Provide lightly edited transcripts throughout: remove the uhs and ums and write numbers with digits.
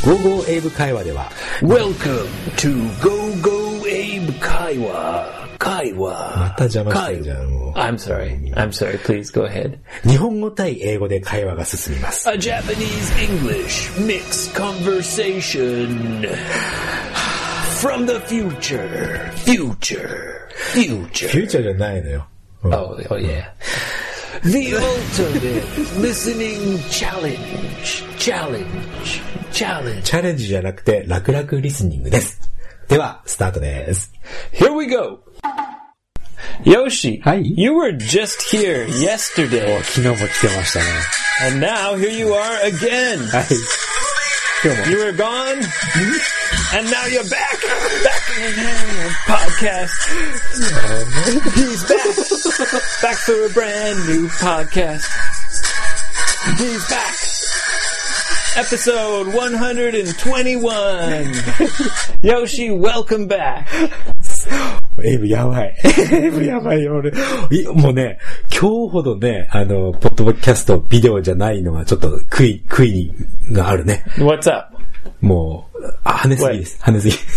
ゴーゴーエイブ会話では Welcome to Go Go Abe 会話また邪魔してるじゃんもう。 I'm sorry. Please go ahead. 日本語対英語で会話が進みます。 A Japanese English mixed conversation from the future. フューチャーじゃないのよ。 Oh yeah. The ultimate listening challenge. チャレンジじゃなくて楽々リスニングです。ではスタートです。 Here we go. Yoshi, Hi. You were just here yesterday. 昨日も来てましたね。 And now here you are again. はい。今日も。 You were gone, and now you're back in the podcast. He's back for a brand new podcast. He's back. Episode 121. Yoshi, welcome back. エイブやばい。エイブやばいよ、俺。もうね、今日ほどね、ポッドキャスト、ビデオじゃないのがちょっと悔いがあるね。 What's up? もう、跳ねすぎです。跳ねすぎ。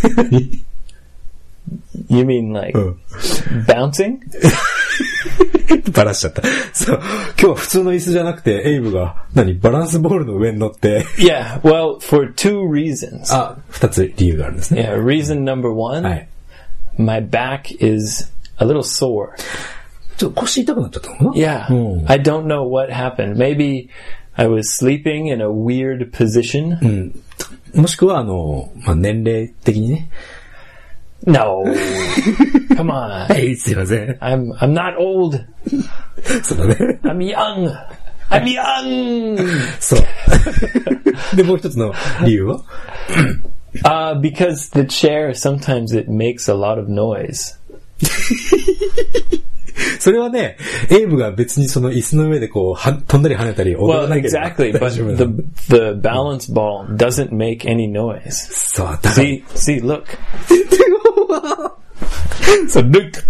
You mean like bouncing? バラしちゃった。そう。今日は普通の椅子じゃなくて、エイブが、バランスボールの上に乗って。 Yeah, well, for two reasons. 二つ理由があるんですね。 Yeah, reason number one. はい。 My back is a little sore. ちょっと腰痛くなっちゃったのかな？ Yeah. I don't know what happened. Maybe I was sleeping in a weird position. もしくは、年齢的にね。 No. Come on. はい、すいません。 I'm not old. そうだね。 I'm young. そう。で、もう一つの理由は because the chair, sometimes it makes a lot of noise. それはね、エイブが別にその椅子の上でこう、飛んだり跳ねたり踊らなければ exactly, but the balance ball doesn't make any noise. そう、だから。 See, look. そう、look って。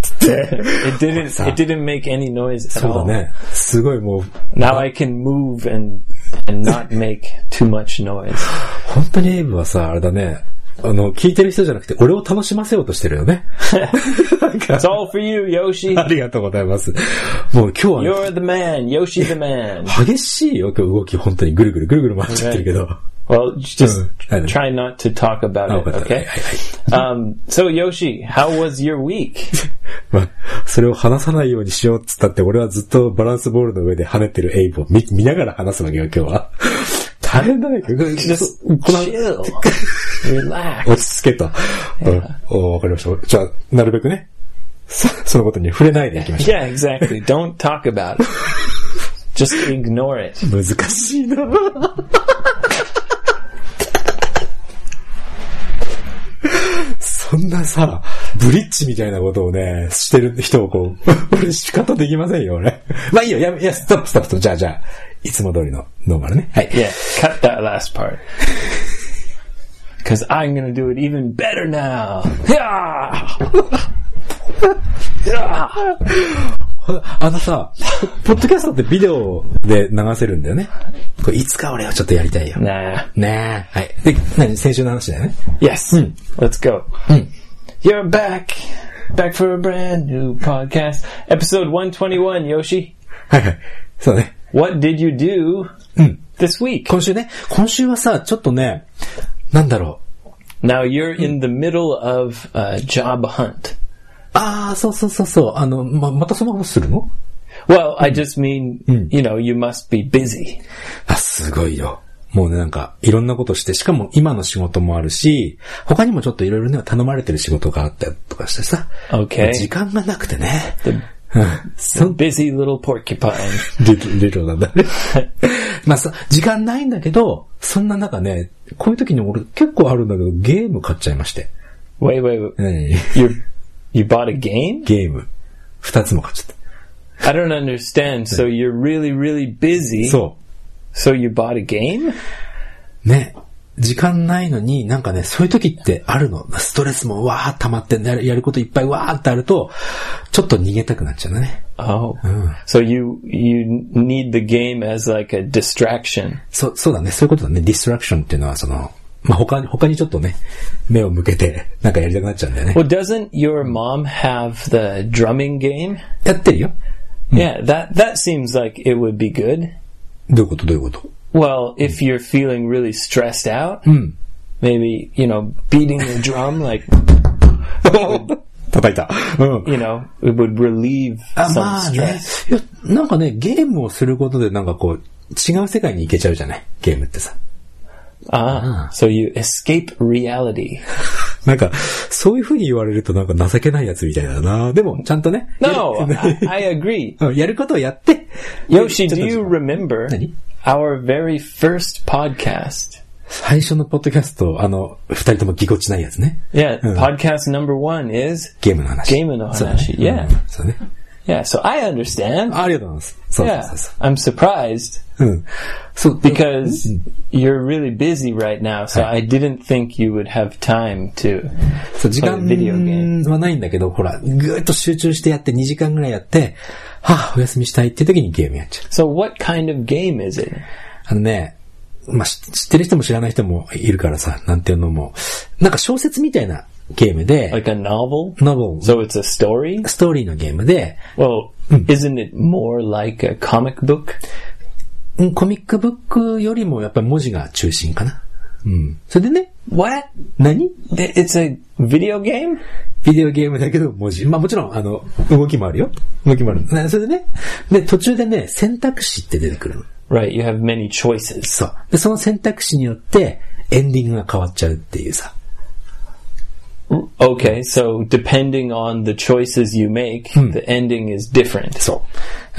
It didn't make any noise at all. そうだね。すごいもう。 Now I can move and not make too much noise. 本当にエイブはさ、あれだね。聞いてる人じゃなくて、俺を楽しませようとしてるよね。 It's all for you, Yoshi. ありがとうございます。もう今日は、 You're the man, Yoshi the man. 激しいよ、今日動き、本当にぐるぐる回っちゃってるけど。 Well, just try not to talk about it, okay? So Yoshi, how was your week? まあ、それを話さないようにしようっつったって、俺はずっとバランスボールの上で跳ねてるエイブを見ながら話すわけよ、今日は。大変だね。 Just chill. Relax. 落ち着けと。わかりました。じゃあ、なるべくね、そのことに触れないでいきましょう。 Yeah, exactly. Don't talk about it. Just ignore it. 難しいなそんなさ、ブリッジみたいなことをね、してる人をこう、俺仕方できませんよ、俺。まあいいよ、ストップ。じゃあ、いつも通りのノーマルね。はい。 Yeah, cut that last part. Because I'm gonna do it even better now. さ、ポッドキャストってビデオで流せるんだよね。これいつか俺はちょっとやりたいよ。 Nah. はい。で、先週の話だよね。 Yes. Let's go. You're back for a brand new podcast. Episode 121, Yoshi. はい。そうね。 What did you do this week? 今週はさ、ちょっとね、なんだろう。Now you're in the middle of a job hunt. そう。またその話するの？ Well, I just mean, you know, you must be busy. すごいよ。もうね、いろんなことして、しかも今の仕事もあるし、他にもちょっといろいろね、頼まれてる仕事があったりとかしてさ。 Okay. 時間がなくてね。 So busy little porcupine. リトルなんだね。まあ時間ないんだけど、そんな中ね、こういう時に俺結構あるんだけど、ゲーム買っちゃいまして。 Wait. You bought a game? ゲーム。2つも買っちゃった。 I don't understand. So you're really, really busy. そう。 So you bought a game? ね。時間ないのにそういう時ってあるの。ストレスもわー溜まってやることいっぱいわーってあると、ちょっと逃げたくなっちゃうんだね。 Oh. So you need the game as like a distraction. そうだね。そういうことだね。ディストラクションっていうのはまあ他にちょっとね、目を向けて、なんかやりたくなっちゃうんだよね。 Well, doesn't your mom have the drumming game? やってるよ。 Yeah, that seems like it would be good. どういうこと Well, if you're feeling really stressed out, maybe, beating the drum, like, 叩いた。 it would relieve some まあね。 stress. いや、なんかね、ゲームをすることでなんかこう、違う世界に行けちゃうじゃない、ゲームってさ。 So you escape reality. なんか、そういう風に言われるとなんか情けないやつみたいだな。でも、ちゃんとね。 No, I agree. やることをやって。 Yoshi, do you remember 何 our very first podcast? 最初のポッドキャスト、二人ともぎこちないやつね。 Yeah, podcast number 1 is ゲームの話。 ゲームの話。Yeah. そうね。 Yeah, so I understand. ありがとうございます。そう Yeah, そうそう。 I'm surprised そう。 because you're really busy right now, so I didn't think you would have time to そう、時 play a video game. 間はないんだけど、ほら、ぐーっと集中してやって2時間ぐらいやって、お休みしたいって時にゲームやっちゃう。 So what kind of game is it? まあ、知ってる人も知らない人もいるからさ、なんていうのも、なんか小説みたいなゲームで、 Like a novel? novel, So it's a story? ストーリーのゲームで、 Well, isn't it more like a comic book? コミックブックよりもやっぱり文字が中心かな。それでね、 What? 何 It's a video game? ビデオゲームだけど文字。まあもちろん、動きもあるよ。動きもある。それでね、で、途中でね、選択肢って出てくるの。 Right, you have many choices. そう。で、その選択肢によって、エンディングが変わっちゃうっていうさ。 Okay, so depending on the choices you make, the ending is different. そう。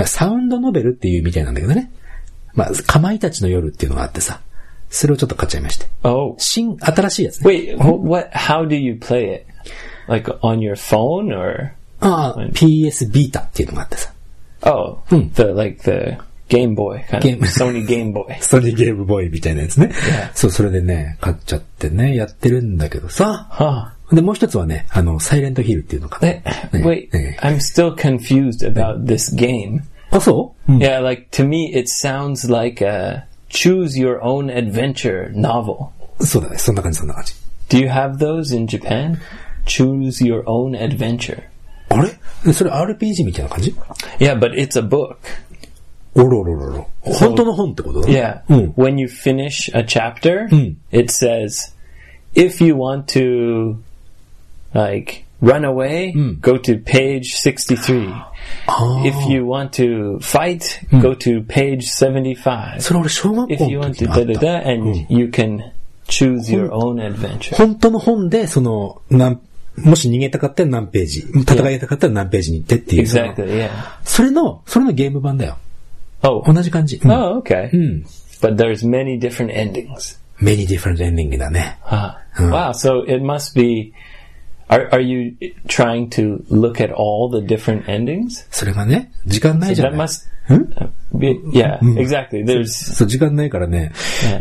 サウンドノベルっていうみたいなんだけどね。まあ、かまいたちの夜っていうのがあってさ。それをちょっと買っちゃいまして。 Oh. 新しいやつね。 Wait, how do you play it? Like on your phone or? PS ビータっていうのがあってさ。 Oh, the Game Boy, kind of Sony Game Boy. ソニーゲームボーイみたいなやつね。そう、それでね、買っちゃってね、やってるんだけどさ。で、もう一つはね、サイレントヒルっていうのかな。 Wait, I'm still confused about this game. あ、そう？ Yeah, like to me it sounds like a choose your own adventure novel. そうだね、そんな感じ。 Do you have those in Japan? Choose your own adventure. あれ？それ RPG みたいな感じ？ Yeah, but it's a book. おろろろろ。本当の本ってことだね。 Yeah. When you finish a chapter, it says, if you want to, like, run away, go to page 63. If you want to fight, go to page 75. それ俺小学校 If you の want 時 to にあっ da da た。 da, and you can choose your own adventure. 本当の本で、もし逃げたかったら何ページ、戦いたかったら何ページに行ってっていう。 Exactly, yeah. それのゲーム版だよ。 Oh. 同じ感じ。 Oh, okay. But there's many different endings. Many different ending だね。 Wow, so it must be... Are you trying to look at all the different endings? それがね、時間ないじゃない。 So that must be, yeah, exactly. There's そう、時間ないからね、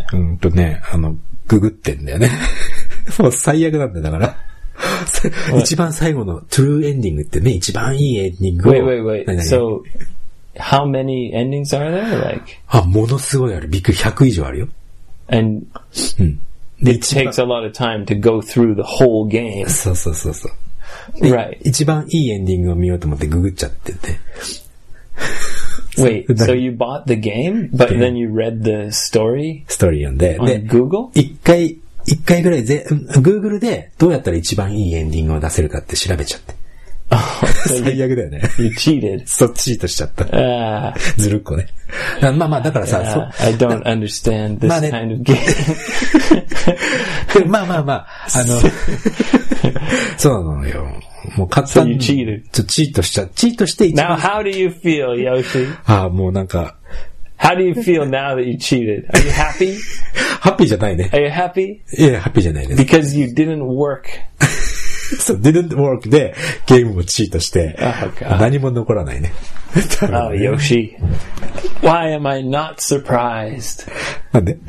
ググってんだよね。もう最悪なんだよ、だから。一番最後のトゥルーエンディングってね、一番いいエンディングを。 Wait. So, how many endings are there? Like? ものすごいある。びっくり100以上あるよ。 And it takes a lot of time to go through the whole game. そう。 Right. 一番いいエンディングを見ようと思ってググっちゃってて。 Wait, so you bought the game, but then you read the story? ストーリー読んで。 On Google? 一回ぐらいGoogle でどうやったら一番いいエンディングを出せるかって調べちゃって。最悪だよね。 You cheated. そっちチートしちゃった。ずるっこね。まあだからさ、 I don't understand this kind of game. まあ、そうなのよ。もう簡単に。 So you cheated. チートして一番。 Now how do you feel, Yoshi? もうなんか。 How do you feel now that you cheated? Are you happy? ハッピーじゃないね。 Are you happy? いや、ハッピーじゃないです。 Because you didn't work. そう、didn't work でゲームもチートして、何も残らないね。 Oh, Yoshi. Why am I not surprised? なんで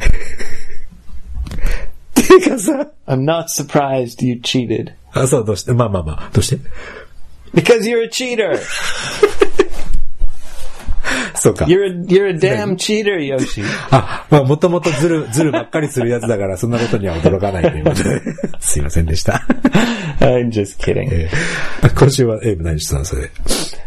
てかさ、 I'm not surprised you cheated. そう、どうしてまあ、どうして Because you're a cheater. そうか。 You're a damn cheater, Yoshi. まあ、もともとずるばっかりするやつだから、そんなことには驚かないということで。すいませんでした。 I'm just kidding. 今週はエイブ何してたのそれで。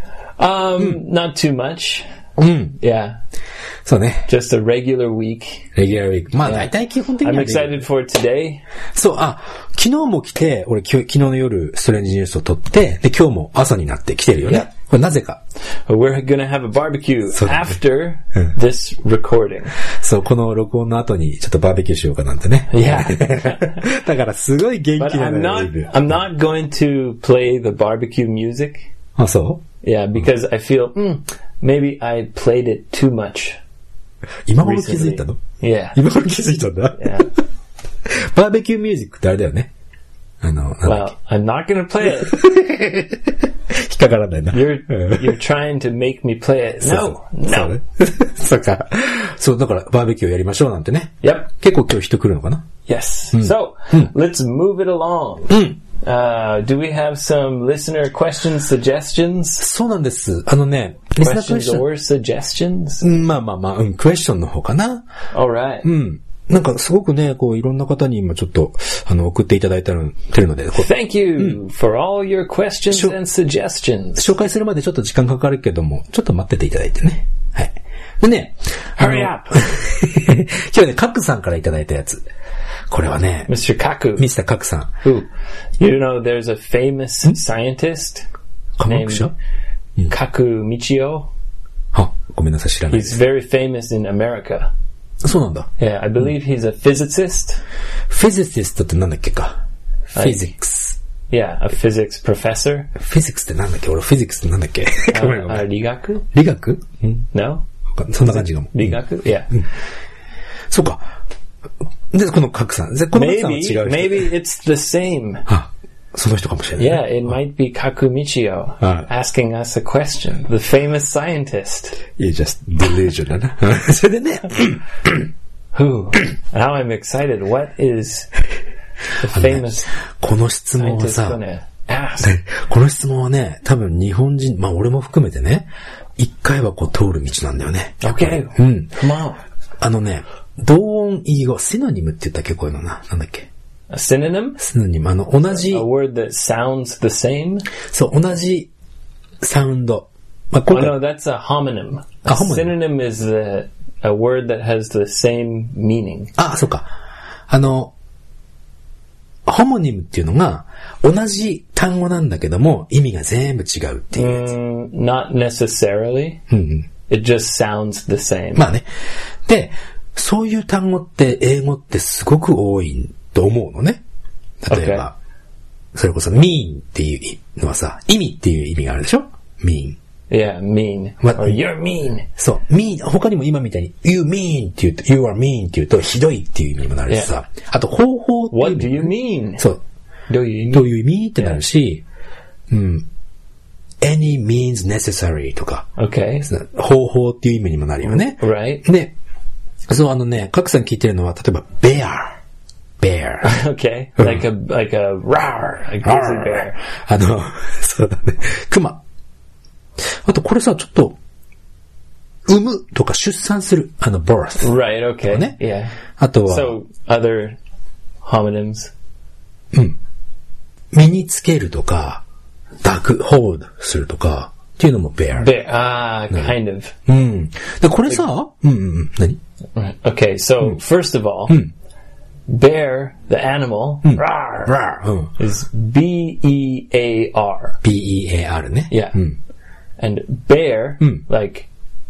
Not too much. Yeah. そうね。 Just a regular week. Regular week. まあ、大体基本的には。 I'm excited for today. そう、昨日も来て、俺昨日の夜、ストレンジニュースを撮って、で、今日も朝になって来てるよね。これなぜか。 We're gonna have a barbecue after this recording. そう、この録音の後にちょっとバーベキューしようかなんてね。 Yeah. だからすごい元気なのよ。 I'm not going to play the barbecue music. あ、そう Yeah, because I feel, maybe I played it too much. 今頃気づいたの Yeah. 今頃気づいたんだ。 Yeah. バーベキューミュージックってあれだよね。 Well, I'm not going to play it. 引っかからないな。 You're trying to make me play it. No. そうか。そう、だからバーベキューやりましょうなんてね。 Yep. 結構今日人来るのかな Yes. So, let's move it along. Do we have some listener questions, suggestions? そうなんです。 Questions or suggestions? まあ、クエスチョンの方かな。 Alright. なんかすごくね、こういろんな方に今ちょっと送っていただいてるので。 Thank you for all your questions and suggestions. 紹介するまでちょっと時間かかるけども、ちょっと待ってていただいてね。はい。でね、 Hurry up! 今日はね、カクさんからいただいたやつ。これはね、 Mr. Kaku. Mr. カクさん。 Who? You know, there's a famous scientist named Kaku Michio. ごめんなさい、知らない。 He's very famous in America. そうなんだ。 Yeah, I believe he's a physicist. Physicist ってなんだっけか。Physics. Yeah, a physics professor. Physics ってなんだっけ俺、Physics ってなんだっけ理学？ 理学 No? そんな感じかも。 理学？ Yeah. そうか。で、このカクさん。このカクさんは違う人。 Maybe it's the same. その人かもしれない。 Yeah, it might be Kaku Michio asking us a question. The famous scientist. You just delusion だな。それでね。 Who? Now I'm excited. What is the famous この質問はさ、この質問はね、多分日本人、まあ俺も含めてね、一回はこう通る道なんだよね。 Okay. Come on. 同音異義語、シノニムって言ったっけこういうのな。なんだっけ A synonym? シノニム。同じ。 A word that sounds the same? そう、同じサウンド。 まあ、oh, no, that's a homonym. A synonym is a word that has the same meaning. そうか。ホモニムっていうのが、同じ単語なんだけども、意味が全部違うっていうやつ。 Not necessarily. It just sounds the same. まあね。で、そういう単語って英語ってすごく多いと思うのね。例えば、それこそ mean っていうのはさ、意味っていう意味があるでしょ ?mean. Yeah, mean. Or you're mean. そう。mean. 他にも今みたいに you mean って言うと you are mean って言うとひどいっていう意味にもなるしさ。あと方法っていう意味。 What do you mean? そう。どういう意味ってなるし、any means necessary とか。 Okay. 方法っていう意味にもなるよね。 Right. で、そうカクさん聞いてるのは、例えば bear. Okay. Like a rawr, a grizzly bear. そうだね。熊。あとこれさ、ちょっと、産むとか出産する。birth. Right, okay. ね。 Yeah. あとは、 So, other homonyms. 身につけるとか、hold するとか、っていうのも bear. Kind of. で、これさ、何 Okay, so, first of all, bear, the animal, rawr, is B-E-A-R. B-E-A-R ね。 Yeah. And bear, like,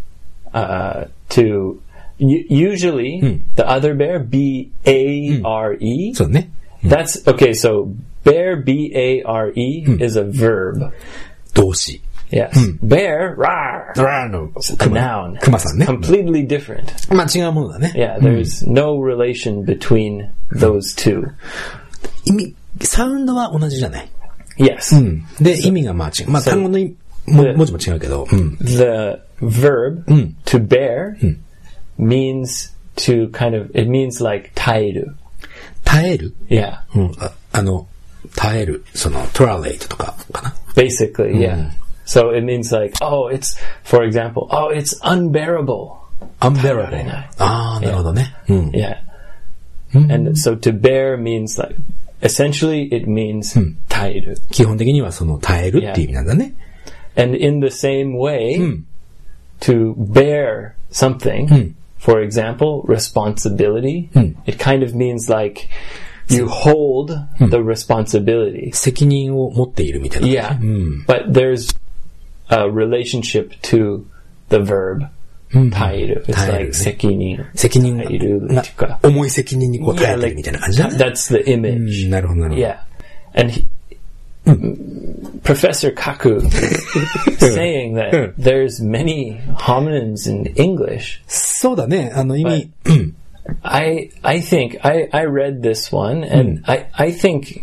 usually, the other bear, B-A-R-E. そうね。 That's, okay, so, bear, B-A-R-E, is a verb. 動詞。 Yes. Bear, rawr. A noun. 熊さんね。 Completely different. まあ違うものだね。 Yeah, there's no relation between those two. サウンドは同じじゃない。 Yes. で、意味がまあ違う。まあ単語の文字も違うけど。 The verb to bear means to kind of, it means like 耐える。 耐える Yeah. 耐える。tolerate とかかな。 Basically, yeah. So it means like, for example, it's unbearable. unbearable. ああ、なるほどね。うん。 Yeah. And so to bear means like, essentially it means 耐える。 基本的にはその耐えるっていう意味なんだね。 And in the same way, to bear something, for example, responsibility, it kind of means like you hold the responsibility. 責任を持っているみたいな。 Yeah. But there's a relationship to the verb. 耐える。It's like 責任耐えるっていうか。 重い責任にこう耐えてるみたいな感じだね。 That's the image. なるほどなるほど。 Yeah. And Professor Kaku saying that there's many homonyms in English. そうだね。意味。 I think I read this one and I think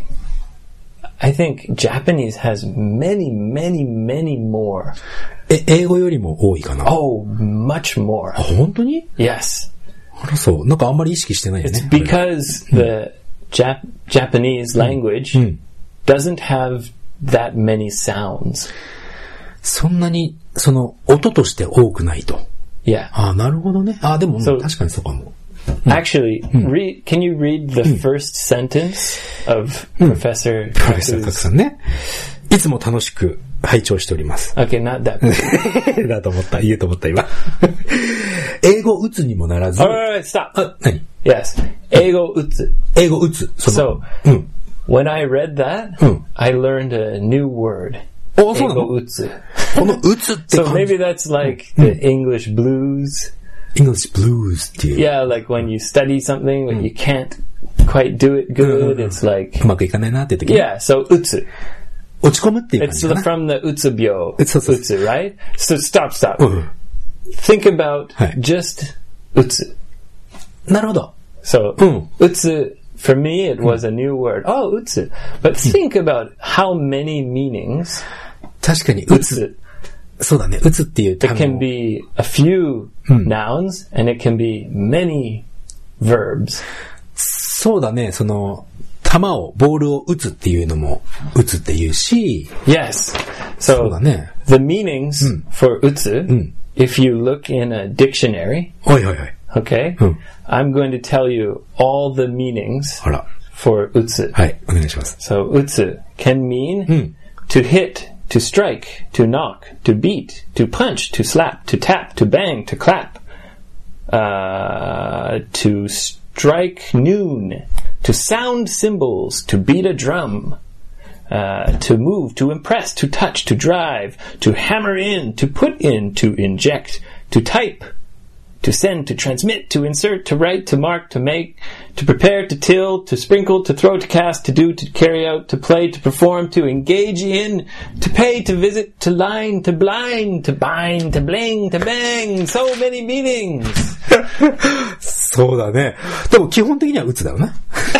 Japanese has many more. 英語よりも多いかな。 Oh, much more. あ、本当に？ Yes. あらそう。なんかあんまり意識してないよね。 It's because the Japanese language doesn't have that many sounds. そんなに、その、音として多くないと。 Yeah. あ、なるほどね。あ、でも、確かにそうかも。 Actually, can you read the first sentence of Professor Kaku さんね。いつも楽しく拝聴しております。 Okay, not that. だと思った。言うと思った、今。英語打つにもならず。 Alright, stop. あ、何？ Yes. 英語打つ。 英語打つ。 So, when I read that, I learned a new word. お、そうなの？ 英語打つ。 この打つって感じ。 So maybe that's like the English blues.English blues っていう。 Yeah, like when you study something, when you can't quite do it good, it's like... うまくいかないなって時。 Yeah, so 打つ。 落ち込むっていう感じかな。 It's from the うつ病。 打つ、 right? So stop. Think about just 打つ。 なるほど。 So, 打つ, for me, it was a new word. Oh, 打つ. But think about how many meanings 確かに、打つ。そうだね。打つっていう単語。 It can be a few nouns and it can be many verbs. そうだね。その、ボールを打つっていうのも、打つっていうし。 Yes. そうだね。 The meanings for 打つ、if you look in a dictionary, okay, I'm going to tell you all the meanings for 打つ。 はい、お願いします。 So 打つ can mean to hit,to strike, to knock, to beat, to punch, to slap, to tap, to bang, to clap, to strike noon, to sound cymbals, to beat a drum, to move, to impress, to touch, to drive, to hammer in, to put in, to inject, to type, to send, to transmit, to insert, to write, to mark, to make, to prepare, to till, to sprinkle, to throw, to cast, to do, to carry out, to play, to perform, to engage in, to pay, to visit, to line, to blind, to bind, to bling, to bang. So many meanings. そうだね。でも基本的には打つだろうな。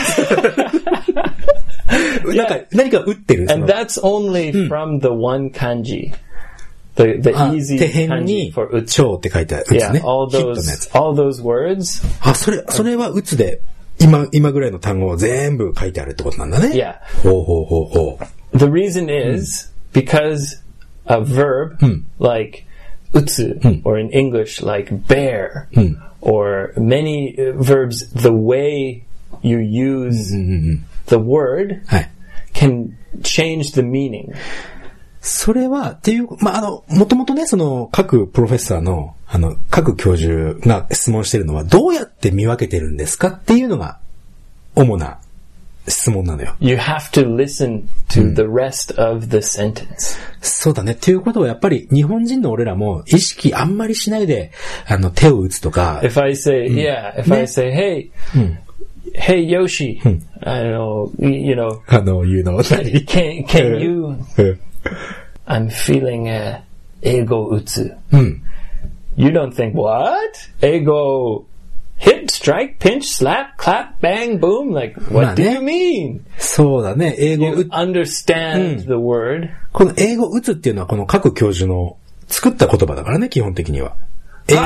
なんか何か打ってる。 And that's only from the one kanji.The easy kanji for 打つ。 超って書いてある。 Yeah, all those words. あ、それは打つで、今ぐらいの単語を全部書いてあるってことなんだね。 Yeah. ほう。 The reason is because a verb like 打つ or in English like bear or many verbs, the way you use the word can change the meaning. それは、っていう、もともとね、その、各プロフェッサーの、各教授が質問してるのは、どうやって見分けてるんですかっていうのが、主な質問なのよ。 You have to listen to the rest of the sentence. そうだね。っていうことは、やっぱり、日本人の俺らも、意識あんまりしないで、手を打つとか。 If I say, I say, hey, Yoshi, I don't know, you know. Can you...I'm feeling ego 打つ. You don't think, what? Ego hit, strike, pinch, slap, clap, bang, boom? Like, what do you mean? そうだね。英語 You understand the word. この英語打つっていうのはこの各教授の作った言葉だからね、基本的には。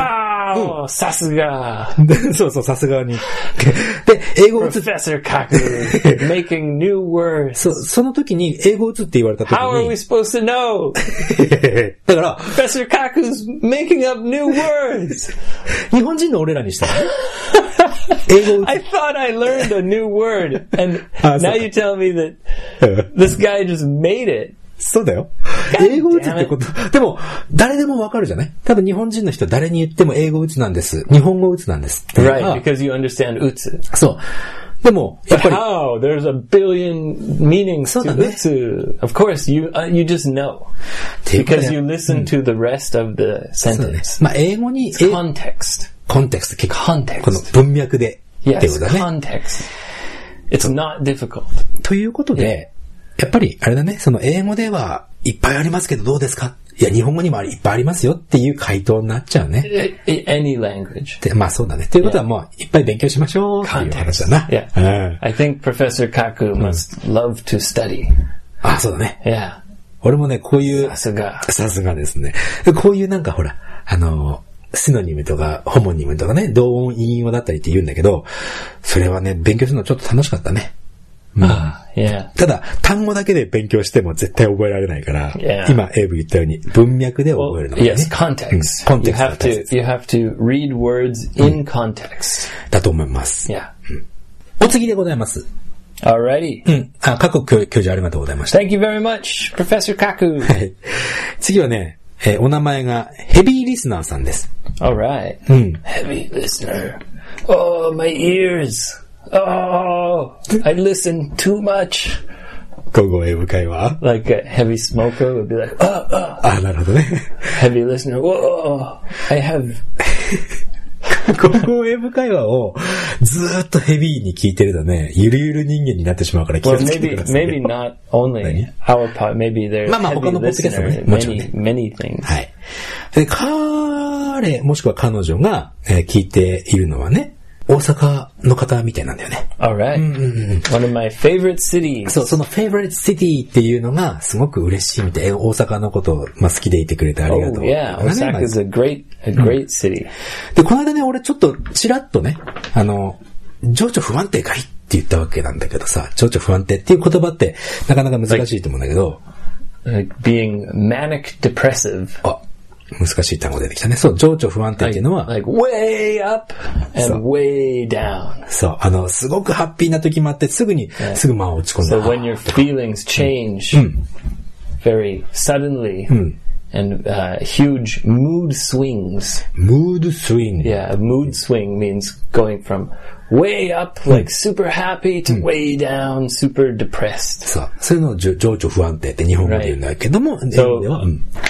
Wow! さすが。 そうそう、さすがに。で、英語を打つ。 Professor Kaku making new words. その時に、英語を打つって言われた時に。 How are we supposed to know? だから、 Professor Kaku's making up new words. 日本人の俺らにしたらね。英語を打つ。 I thought I learned a new word, and now you tell me that this guy just made it. そうだよ。英語打つってこと。でも、誰でもわかるじゃない？多分日本人の人誰に言っても英語打つなんです。日本語打つなんです。 Right, because you understand 打つ。 そう。でも、やっぱり。 How? There's a billion meanings to 打つ。Of course, you just know. Because you listen to the rest of the sentence. まあ、英語に。 Context. コンテクスト。 Context. この文脈で。 Yes, ってことだね。 context. It's not difficult. ということで、やっぱり、あれだね、その英語ではいっぱいありますけどどうですか？いや、日本語にもいっぱいありますよっていう回答になっちゃうね。 Any language. で、まあそうだね。ということはもういっぱい勉強しましょうっていう話だな。 Yeah. I think Professor Kaku must love to study. あ、そうだね。 Yeah. 俺もね、こういう、 さすがですね。 こういうなんかほら、シノニムとか、ホモニムとかね、同音異音だったりって言うんだけど、それはね、勉強するのちょっと楽しかったね。 Yeah. ただ、単語だけで勉強しても絶対覚えられないから、今、エイブ言ったように、文脈で覚えるのがね。 Yes, context. You have to read words in context. だと思います。 Yeah. お次でございます。 Alrighty. 過去教授ありがとうございました。 Thank you very much, Professor Kaku. はい。次はね、お名前がヘビーリスナーさんです。 Alright. Heavy listener. Oh, my ears.Oh, I listen too much. 午後英語会話 Like a heavy smoker would be like, なるほどね。 Heavy listener, whoa, I have... 午後英語会話をずーっとヘビーに聞いてるとね、ゆるゆる人間になってしまうから気をつけてください。 Maybe not only our part, maybe there's heavy listener many things. はい。で、彼、もしくは彼女が、聞いているのはね、大阪の方みたいなんだよね。 Alright. One of my favorite cities. そう、その favorite city っていうのがすごく嬉しいみたい。大阪のことを、好きでいてくれてありがとう。 Oh, yeah. Osaka is a great city. で、この間ね、俺ちょっとちらっとね、情緒不安定かいって言ったわけなんだけどさ、情緒不安定っていう言葉ってなかなか難しいと思うんだけど。 Like being manic depressive. 難しい単語出てきたね。そう、情緒不安定っていうのは、 like way up and way down. そう、すごくハッピーな時もあって、すぐまあ落ち込んだ。 So when your feelings change very suddenly and huge mood swings. Mood swing. Yeah, a mood swing means going from way up, like super happy to way down, super depressed. そう、そういうのを情緒不安定って日本語で言うんだけども、英語では、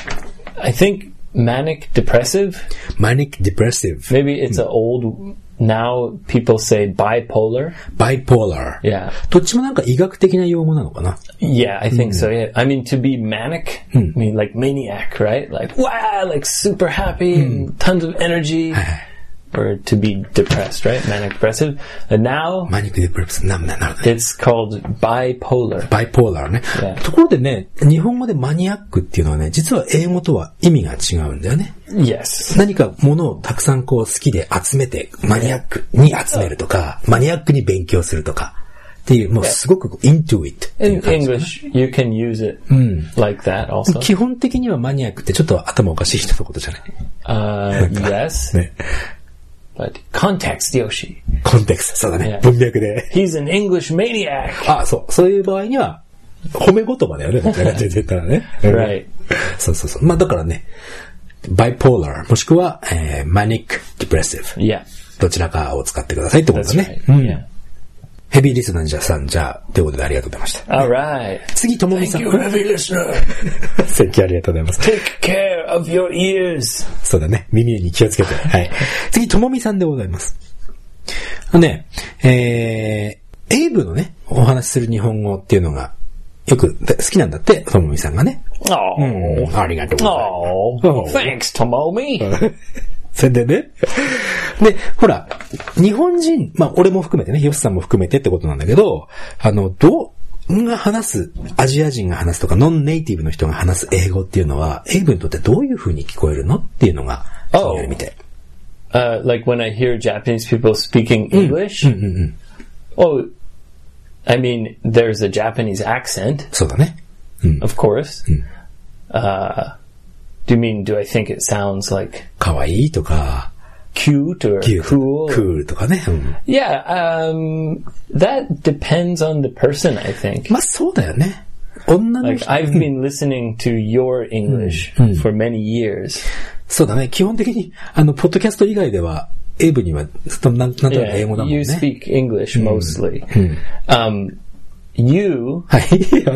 I think Manic depressive? Manic depressive. Maybe it's an old, now people say bipolar. Bipolar. Yeah. どっちもなんか医学的な用語なのかな? Yeah, I think so, yeah. I mean, to be manic, I mean, like maniac, right? Like, wow, like super happy and tons of energy. Or to be depressed, right? Manic depressive. And now, Manic depressive. It's called bipolar. Bipolar ね。 Yeah. ところでね、日本語でマニアックっていうのはね、実は英語とは意味が違うんだよね。 Yes. 何かものをたくさんこう好きで集めて、マニアックに集めるとか、マニアックに勉強するとか。っていう、もうすごく into it っていう感じ。 In English, you can use it like that also. 基本的にはマニアックってちょっと頭おかしい人のことじゃない？ Yes. ね。 But context, Yoshi. コンテクスト、そうだね。文脈で。 He's an English maniac. そういう場合には、褒め言葉だよね。出てたらね。 Right. そう。まあだからね、bipolar、もしくは、manic depressive。 Yeah. どちらかを使ってくださいってことだね。 Yeah. ヘビーリスナーさん、じゃあ、ということでありがとうございました。 Alright. 次、ともみさん。 Thank you, heavy listener. Thank you, ありがとうございます。 Take care of your ears. そうだね。耳に気をつけて。はい。次、ともみさんでございます。エイブのね、お話しする日本語っていうのが、よく好きなんだって、ともみさんがね。ありがとうございます。 Thanks, ともみ。 それでね。で、ほら、日本人、まあ、俺も含めてね、ヨシさんも含めてってことなんだけど、が話す、アジア人が話すとか、ノンネイティブの人が話す英語っていうのは、エイブにとってどういう風に聞こえるのっていうのが、気になるみたい。 like when I hear Japanese people speaking English, oh, I mean, there's a Japanese accent, そうだね。 of course. Do you mean, do I think it sounds like かわいいとか、 cute or キュート cool? クールとかね。 Yeah, that depends on the person, I think. まあそうだよね。女の Like, 人、 I've been listening to your English for many years. そうだね。基本的に、ポッドキャスト以外では、エイブにはずっとなんとなく Yeah, 英語だもんね。 you speak English mostly. You はい。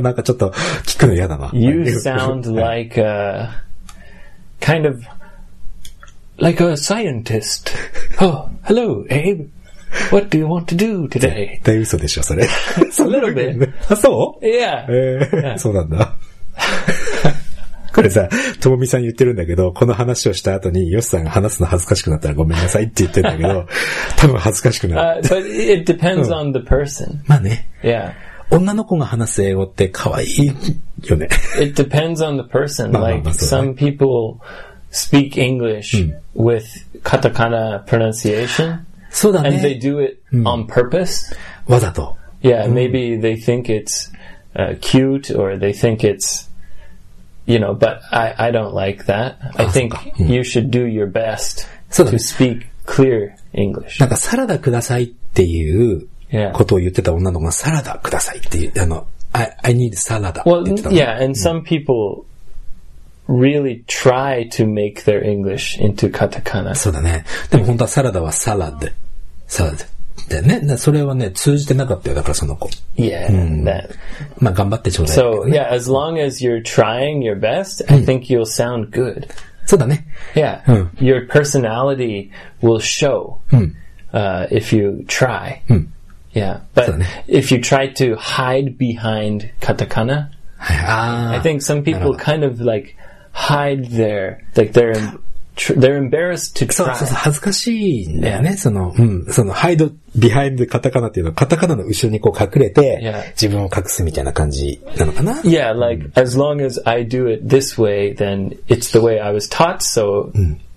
なんかちょっと聞くの嫌だな。 you sound like kind of like a scientist. Oh, hello, Abe. What do you want to do today? 絶対嘘でしょ、それ。 A little bit. あ、そう Yeah. そうなんだ。これさ、ともみさん言ってるんだけど、この話をした後に、ヨシさんが話すの恥ずかしくなったらごめんなさいって言ってるんだけど、多分恥ずかしくなる。 But it depends on the person. まあね。 Yeah. 女の子が話す英語って可愛いよね。 It depends on the person. Like that's some people speak English with katakana pronunciation. そうだ And they ね。 do it on purpose. わざと。 Yeah, maybe they think it's cute or they think it's, but I don't like that. I think you should do your best そうだ to ね。 speak clear English. なんかサラダくださいっていう Yeah. ことを言ってた女の子がサラダくださいっていう、I need サラダって Well, 言ってたの。 yeah, and some people really try to make their English into katakana. そうだね。でも本当はサラダはサラダ。サラダ。だよね。それはね、通じてなかったよ。だからその子。 Yeah, that. まあ頑張ってちょうだい。 So, yeah, as long as you're trying your best, I think you'll sound good. そうだね。 Yeah. Your personality will show if you try. Yeah. But So, if you try to hide behind katakana, はい。あ I think some people kind of like hide like they're embarrassed to そう try. そうそう、恥ずかしいんだよね。そのハイド、ビハインドカタカナっていうのは、カタカナの後ろにこう隠れて、 Yeah. 自分を隠すみたいな感じなのかな。 Yeah, like as long as I do it this way, then it's the way I was taught. So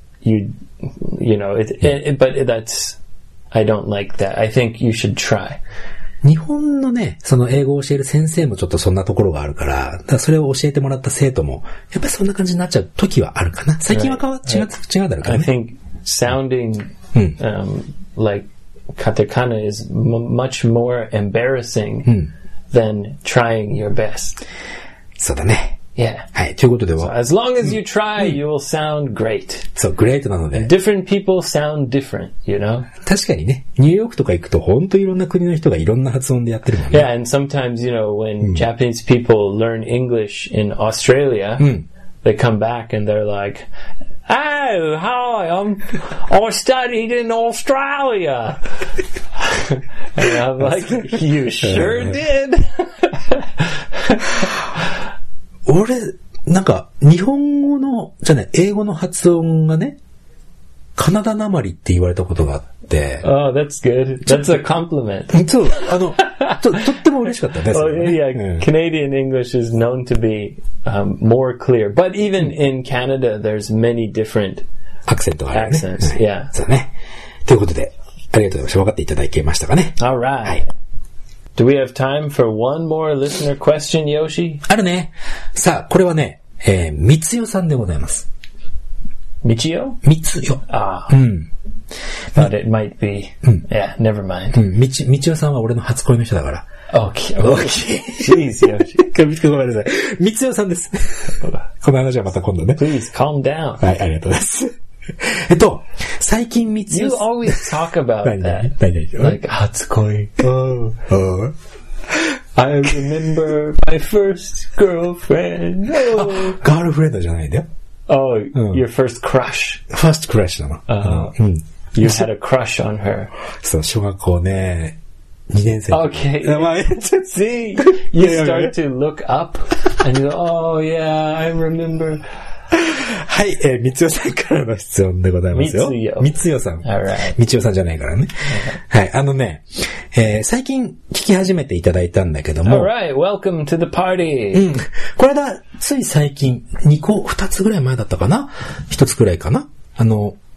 but I don't like that. I think you should try. 日本のね、その英語を教える先生もちょっとそんなところがあるから、だからそれを教えてもらった生徒も、やっぱりそんな感じになっちゃう時はあるかな。最近は違うだろうか I らね。 think sounding like katakana is much more embarrassing than trying your best. そうだね。 Yeah. はい。ということでは、 As long as you try, you will sound great. そう、グレートなので。 Different people sound different, you know? 確かにね、ニューヨークとか行くと本当いろんな国の人がいろんな発音でやってるもんね。 Yeah, and sometimes, when Japanese people learn English in Australia, they come back and they're like, "Oh, hi, I studied in Australia." And I'm like, "You sure did." 俺、なんか、日本語の、じゃね、英語の発音がね、カナダなまりって言われたことがあって。 Oh, that's good. That's a compliment. そう、とっても嬉しかったね。 Oh, yeah, Canadian English is known to be more clear. But even in Canada, there's many different アクセントがあるね。 accents. Yeah. そうね。ということで、ありがとうございました。分かっていただけましたかね。 All right. Do we have time for one more listener question, Yoshi? あるね。さあ、これはね、みつよさんでございます。 Michio? みつよ。 Ah. But it might be. Yeah, never mind. みちよさんは俺の初恋の人だから。 Okay. Jeez, Yoshi. ごめんなさい。みつよさんです。この話はまた今度ね。 Please calm down. はい、ありがとうございます。最近みつよ You さん。 always talk about that. 何 Like, Hatsukoi. Oh. I remember my first girlfriend. Oh, ガールフレンドじゃないんだよ。 your first crush. ファーストクラッシュなの。 You had a crush on her. そう、小学校ね、2年生。 Okay. See, you start to look up and you go, oh yeah, I remember. はい、みつよさんからの質問でございますよ。みつよさん。 Alright. みつよさんじゃないからね。はい、最近聞き始めていただいたんだけども。 Alright, welcome to the party. これだ、つい最近、2つぐらい前だったかな ?1 つぐらいかな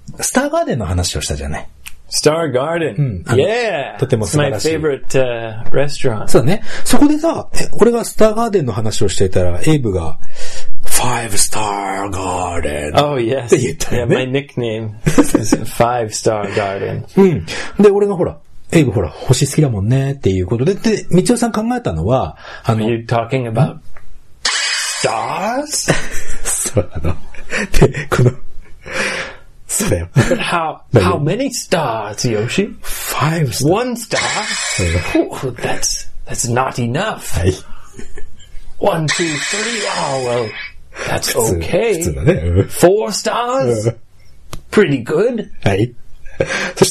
スターガーデンの話をしたじゃない。 Star Garden. Yeah. とても素晴らしい。 It's my favorite restaurant. そうだね。そこでさ、俺がスターガーデンの話をしていたら、エイブが、Five Star Garden. Oh, yes. って言ったよね。 Yeah, my nickname is Five Star Garden. うん。で、俺がほら、エイブほら、星好きだもんねっていうことで、で、みちおさん考えたのは、 Are you talking about stars? そう、で、この、そうだよ。 But how many stars, Yoshi? 5 stars. 1 star? Oh, that's not enough. はい。 1, 2, 3. Oh, well, that's okay. 普通だね。 4 stars? Pretty good. はい。そして、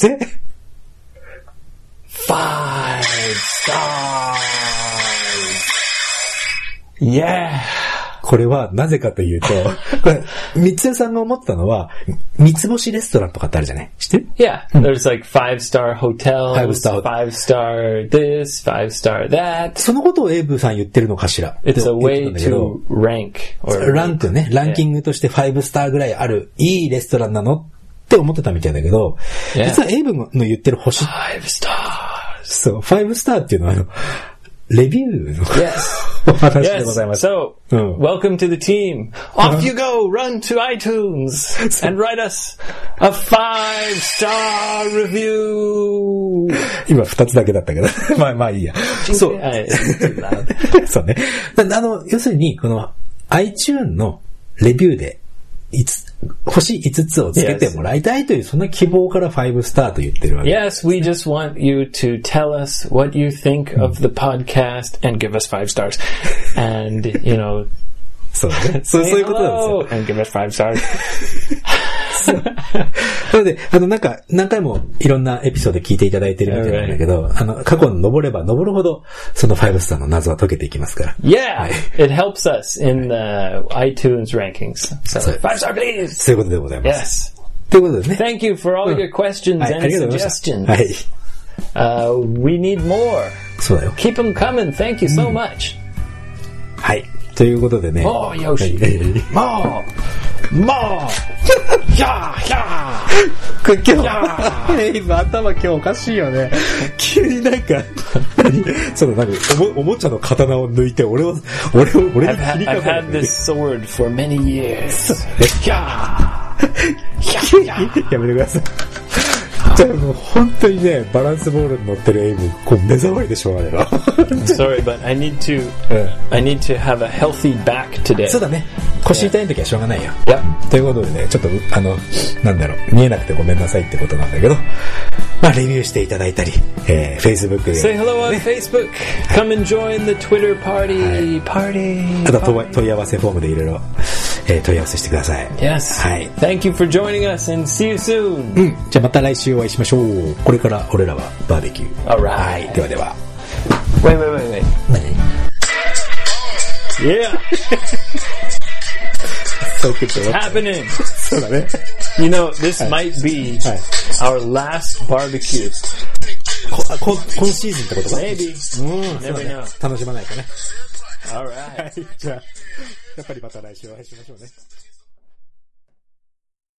5 stars. Yeah. これはなぜかというと、これ、三つ屋さんが思ったのは、三つ星レストランとかってあるじゃない？知ってる？ Yeah, there's like 5-star hotels, 5-star this, 5-star that. そのことをエイブさん言ってるのかしら？ It's a way to rank. ランクね、ランキングとして5スターぐらいある、いいレストランなのって思ってたみたいだけど、実はエイブの言ってる星。 5 stars. そう、5スターっていうのはレビューの、 yes. お話でございます。 So, welcome to the team. Off you go, run to iTunes and write us a 5-star review. 今2つだけだったけど、まあいいや。そう。そうね。要するに、この iTunes のレビューで、星5つをつけてもらいたいという、そんな希望から5スターと言ってるわけ。 Yes, we just want you to tell us what you think of the podcast and give us 5 stars. And, you know, そうね。そういうことなんですよ。 and give us 5 stars. なので、何回もいろんなエピソード聞いていただいてるみたいなんだけど、過去に登れば登るほど、その5スターの謎は解けていきますから。 Yeah! It helps us in the iTunes rankings. So, 5 star please! そういうことでございます。 Yes. ということでね。 Thank you for all your questions and suggestions. はい。 We need more. そうだよ。 Keep them coming. Thank you so much. はい。ということでね。 もう、よし。もうひゃーひゃーエイブ頭今日おかしいよね。急になんか、おもちゃの刀を抜いて、俺に切りかかる。 I've had this sword for many years. ひゃーやめてください。じゃあもう本当にね、バランスボールに乗ってるエイブ、こう目障りでしょうがないな。 Sorry, but I need to have a healthy back today. そうだね。腰痛い時はしょうがないよ。 Yeah. ということでね、ちょっとなんだろう、見えなくてごめんなさいってことなんだけど、まあレビューしていただいたり、Facebook で、 Say hello on Facebook. Come and join the Twitter party. あと問い合わせフォームでいろいろ問い合わせしてください。 Yes. はい。 Thank you for joining us and see you soon. じゃあまた来週お会いしましょう。これから俺らはバーベキュー。 Alright. はい。ではでは。 Wait. Yeah. It's happening. そうだね。 You know, this might be our last barbecue. 今シーズンってことか Maybe. Never know. 楽しまないとね。 Alright. じゃあ、やっぱりまた来週お会いしましょうね。